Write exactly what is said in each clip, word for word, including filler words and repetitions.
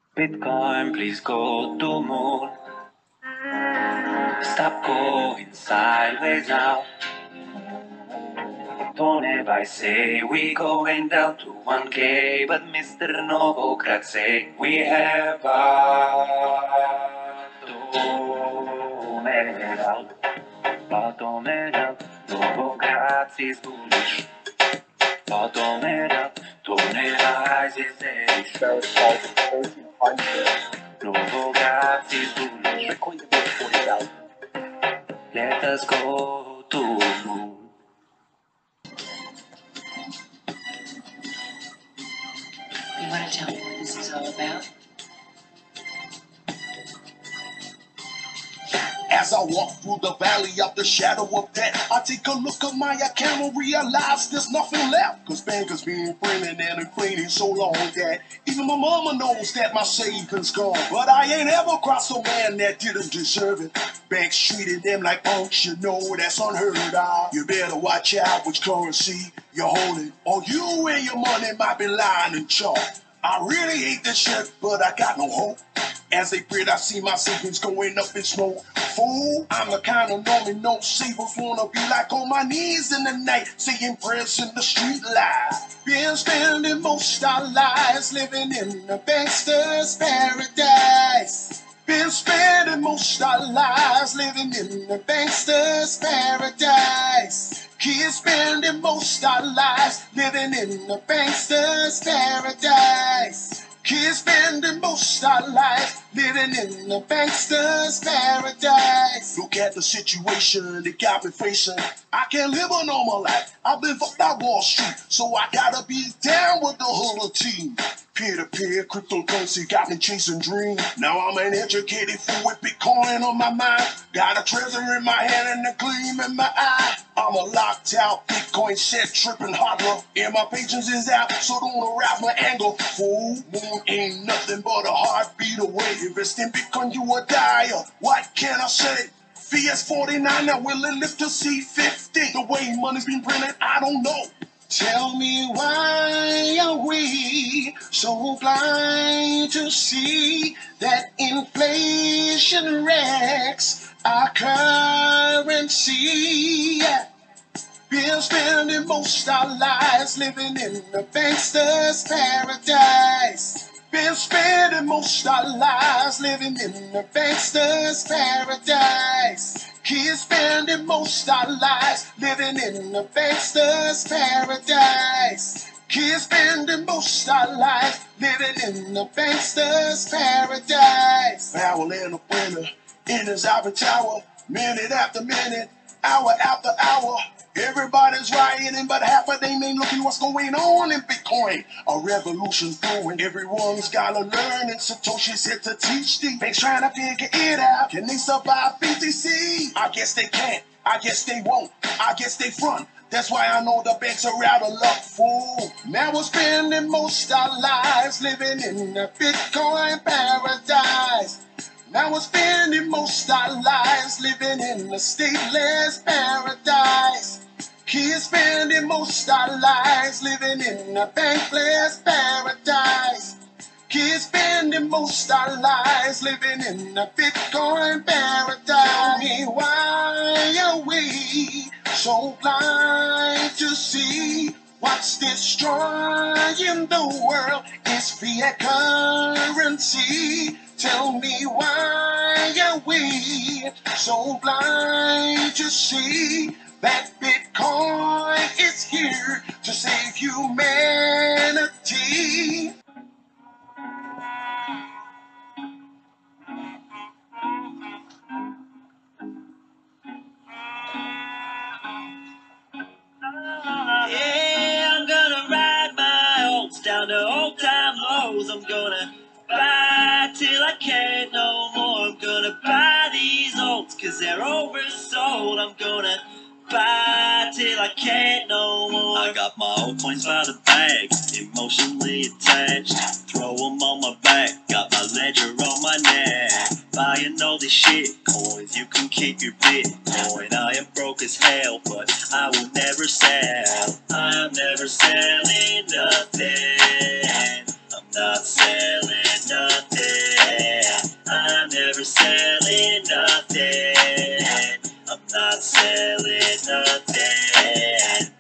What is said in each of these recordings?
Bitcoin, please go to moon. Stop going sideways now. Don't ever say we going down to one K, but Mister Novokrat say we have bottomed out. Bottomed out. Novokrat is bullish. Bottomed out. Tonera is bearish. Novokrat is bullish. Let us go to moon. You want to tell me what this is all about? As I walk through the valley of the shadow of death, I take a look at my account and realize there's nothing left. Cause bankers been printing and inflating so long that even my mama knows that my savings gone. But I ain't ever crossed a man that didn't deserve it. Banks treated them like punks, you know that's unheard of. You better watch out which currency you're holding, or you and your money might be lying in chalk. I really hate this shit, but I got no hope. As they prayed, I see my savings going up in smoke. Fool, I'm the kind of normie no savers wanna be like on my knees in the night, saying prayers in the street light. Been spending most our lives living in the bankster's paradise. Been spending most our lives living in the bankster's paradise. Kids spending most our lives living in the bankster's paradise. Kids spending most our lives living in the bankster's paradise. Look at the situation they got me facing. I can't live a normal life. I've been fucked out Wall Street, so I gotta be down with the whole team. Peer-to-peer cryptocurrency got me chasing dreams. Now I'm an educated fool with Bitcoin on my mind. Got a treasure in my hand and a gleam in my eye. I'm a locked out Bitcoin shit tripping hodler. And my patience is out, so don't arouse my anger. Fool, moon ain't nothing but a heartbeat away. Invest in Bitcoin, you a dyer. What can I say? V S forty-nine, now will it live to C fifty? The way money's been printed, I don't know. Tell me why are we so blind to see that inflation wrecks our currency? Been spending most our lives living in the bankster's paradise. Been spending most our lives living in the bankster's paradise. Kids spending most our lives living in the bankster's paradise. Kids spending most our lives living in the bankster's paradise. Powell in the winter, in his ivory tower, minute after minute, hour after hour. Everybody's rioting, but half of them ain't looking what's going on in Bitcoin. A revolution's brewing, everyone's gotta learn, and Satoshi said to teach these. Banks trying to figure it out. Can they survive B T C? I guess they can't. I guess they won't. I guess they front. That's why I know the banks are out of luck, fool. Now we're spending most our lives living in the Bitcoin paradise. Now we're spending most our lives living in the stateless paradise. Kids spending most our lives living in the bankless paradise. Kids spending most our lives living in the Bitcoin paradise. Tell me why are we so blind to see what's destroying the world is fiat currency. Tell me why are we so blind to see that Bitcoin is here to save humanity? Yeah, I'm gonna ride my oats down to old time lows. I'm gonna buy till I can't no more. I'm gonna buy these oats cause they're oversold. I'm gonna buy till I can't no more. I got my old coins by the bag, emotionally attached. Throw them on my back, got my ledger on my neck. Buying all these shit coins, you can keep your Bitcoin. I am broke as hell, but I will never sell. I'm never selling nothing. I'm not selling nothing.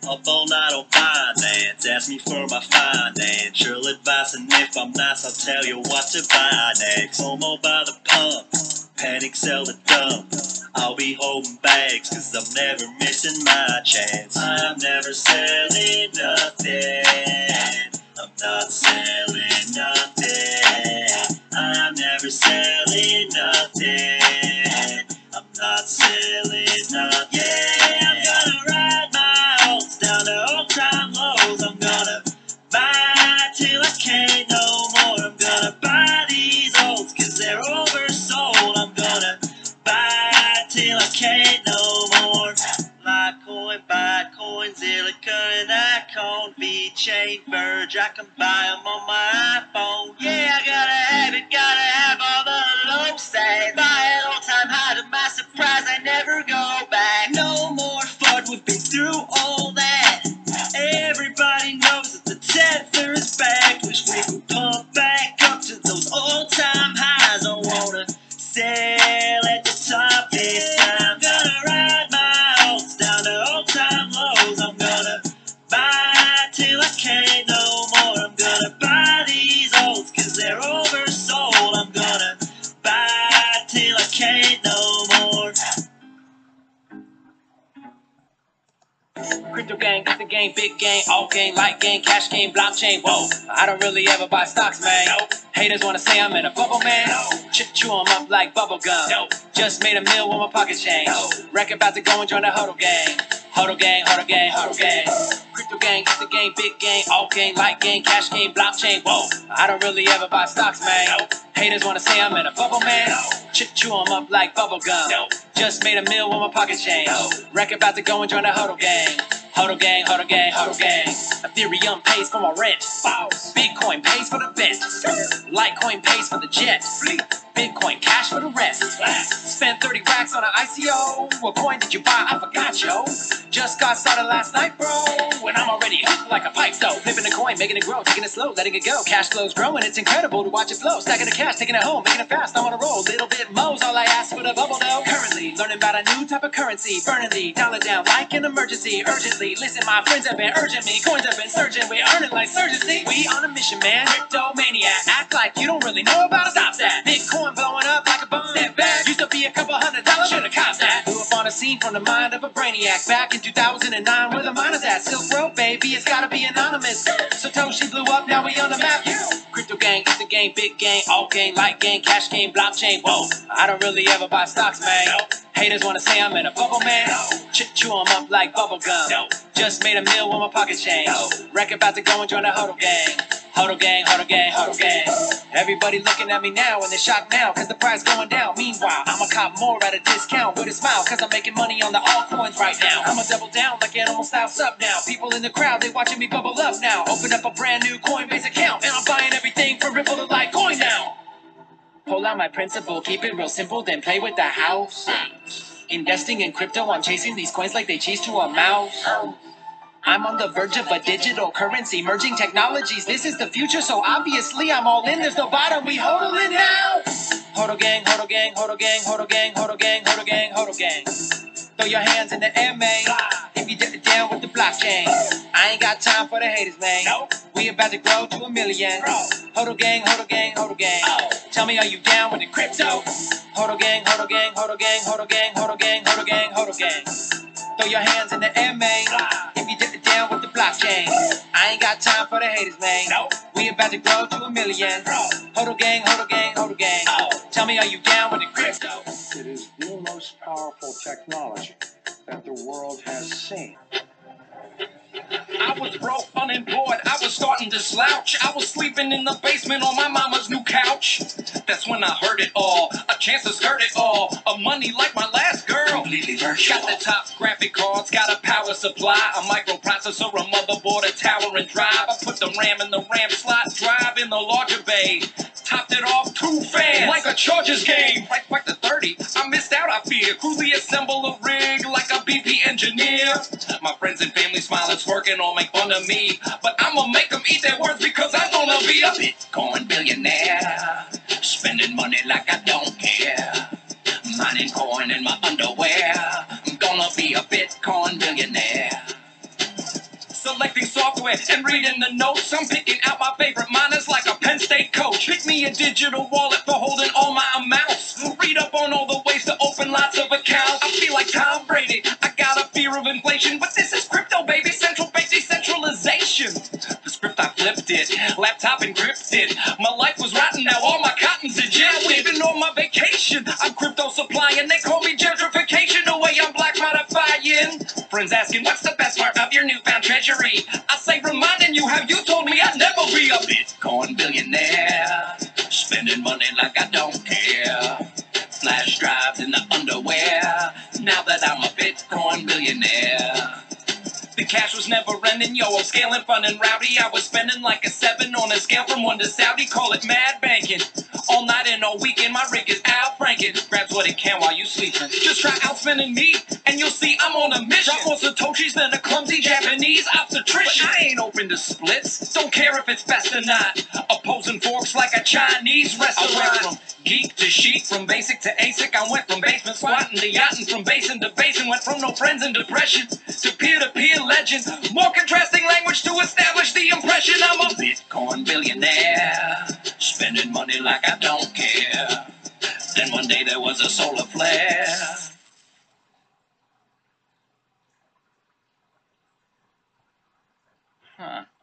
Up all night on finance, ask me for my financial advice, and if I'm nice, I'll tell you what to buy next. Homo by the pump, panic sell the dump. I'll be holding bags, cause I'm never missing my chance. I'm never selling nothing. I'm not selling nothing. I'm never selling nothing. I'm not selling nothing. Yeah, I'm gonna ride my oats down to old time lows. I'm gonna buy till I can't no more. I'm gonna buy these oats cause they're oversold. I'm gonna buy till I can't no more. Litecoin, Bitcoin, Zilliqa, and Icon, V-Chain, Verge, I can buy them on my iPhone. Yeah, I gotta have it, gotta have all the low stats. Buy an all-time high, to my surprise, I never go back. No more FUD, we've been through all that. Everybody knows that the tether is back. Wish we could pump back up to those all-time highs. I wanna sail at the top this time. Gonna ride my oats down to old-time lows. I'm gonna buy till I can't no more. I'm gonna buy these oats cause they're oversold. I'm gonna buy till I can't no more. Crypto gang, it's the game, big game, all game, light game, cash game, blockchain. Whoa, I don't really ever buy stocks, man. Nope. Haters wanna say I'm in a bubble, man. Nope. Chew, chew 'em up like bubble gum. Nope. Just made a meal with my pocket change. Nope. Record about to go and join the huddle gang. Huddle gang, huddle gang, huddle gang. Crypto gang, it's the game, big game, all game, light game, cash game, blockchain. Whoa, I don't really ever buy stocks, man. Nope. Haters wanna say I'm in a bubble, man. Nope. Chew, chew 'em up like bubble gum. Nope. Just made a meal with my pocket change. Nope. Record about to go and join the huddle gang. Huddle gang, huddle gang, huddle gang. Ethereum pays for my rent. Bitcoin pays for the bet. Litecoin pays for the jet. Bitcoin cash for the rest. Spent thirty racks on an I C O. What coin did you buy? I forgot, yo. Just got started last night, bro. And I'm already hooked like a pipe stove. Flipping a coin, making it grow, taking it slow, letting it go. Cash flow's growing, it's incredible to watch it flow. Stacking the cash, taking it home, making it fast. I'm on a roll. Little bit mo's all I ask for the bubble though. Currently learning about a new type of currency. Burning the dollar down like an emergency. Urgently, listen, my friends have been urging me. Coins have been surging, we earning like surgency. We on a mission, man. Crypto maniac. Act like you don't really know about it. Stop that. Bitcoin blowing up like a bomb. That bad. Used to be a couple hundred dollars. Should've copped that. Blew up on a scene from the mind of a brainiac. Back in two thousand nine, where the miners at? Silk Road, baby, it's gotta be anonymous. Satoshi blew up, now we on the map. Crypto gang, it's the game, big game, all game, light game, cash game, blockchain. Whoa, I don't really ever buy stocks, man. Haters wanna say I'm in a bubble, man. Chew, chew 'em up like bubble gum. Just made a meal with my pocket change. Record about to go and join the huddle gang. Huddle gang, huddle gang, huddle gang. Everybody looking at me now and they're shocked now cause the price going down. Meanwhile, I'ma cop more at a discount with a smile cause I'm making money on the altcoins right now. I'ma double down like animal style sub now. People in the crowd, they watching me bubble up now. Open up a brand new Coinbase account and I'm buying everything from Ripple to Litecoin now. Pull out my principle, keep it real simple, then play with the house. Investing in crypto, I'm chasing these coins like they cheese to a mouse. I'm on the verge of a digital currency, merging technologies. This is the future, so obviously I'm all in. There's no bottom, we hodl it now. Hodl gang, hodl gang, hodl gang, hodl gang, hodl gang, hodl gang, hodl gang. Throw your hands in the air, man. If you dip it down with the blockchain. I ain't got time for the haters, man. We about to grow to a million. Hodl gang, hodl gang, hodl gang. Tell me, are you down with the crypto? Hodl gang, hodl gang, hodl gang, hodl gang, hodl gang, hodl gang, hodl gang. Throw your hands in the air, man. If you dip it down with the blockchain. I ain't got time for the haters, man. We about to grow to a million. Hodl gang, hodl gang, hodl gang. Tell me, are you down with the crypto? It is the most powerful technology that the world has seen. I was broke, unemployed, I was starting to slouch. I was sleeping in the basement on my mama's new couch. That's when I heard it all, a chance to skirt it all. A money like my last girl. Completely virtual. Got the top graphic cards, got a power supply, a microprocessor, a motherboard, a tower and drive. I put the RAM in the RAM slot, drive in the larger bay. Topped it off, two fans, like a Chargers game. Right back to thirty, I missed out, I fear. Crudely assemble a rig like a B P engineer. My friends and family smile, it's working or make fun of me. But I'ma make them eat their words because I'm gonna be a Bitcoin billionaire. Spending money like I don't care. Mining coin in my underwear. I'm gonna be a Bitcoin billionaire. selecting software and reading the notes. I'm picking out my favorite miners like a Penn State coach. Pick me a digital wallet for holding all my amounts. Read up on all the ways to open lots of accounts. I feel like Tom Brady. I got a fear of inflation, but this is crypto, baby. Central bank decentralization. The script, I flipped it. Laptop encrypted. My life was rotten, now all my cotton's Egyptian. Even on my vacation, I'm crypto supplying. They call me gentrification, the way I'm black modifying. Friends asking, what's the best part of your newfound treasury? I say, reminding you how you told me I'd never be a Bitcoin billionaire. Spending money like I don't care. Flash drives in the underwear. Now that I'm a Bitcoin billionaire. The cash was never ending, yo, I'm scaling fun and rowdy. I was spending like a seven on a scale from one to Saudi. Call it mad banking. All night and all weekend, my rig is Al Franken. Grabs what it can while you sleeping. Just try outspending me, and you'll see I'm on a mission. Drop more Satoshis than a clumsy Japanese obstetrician. But I ain't open to splits, don't care if it's best or not. Opposing forks like a Chinese restaurant. Geek to chic, from basic to ASIC. I went from basement squatting to yachting, from basin to basin. Went from no friends and depression to peer-to-peer legend. More contrasting language to establish the impression I'm a Bitcoin billionaire. Spending money like I don't care. Then one day there was a solar flare. Huh.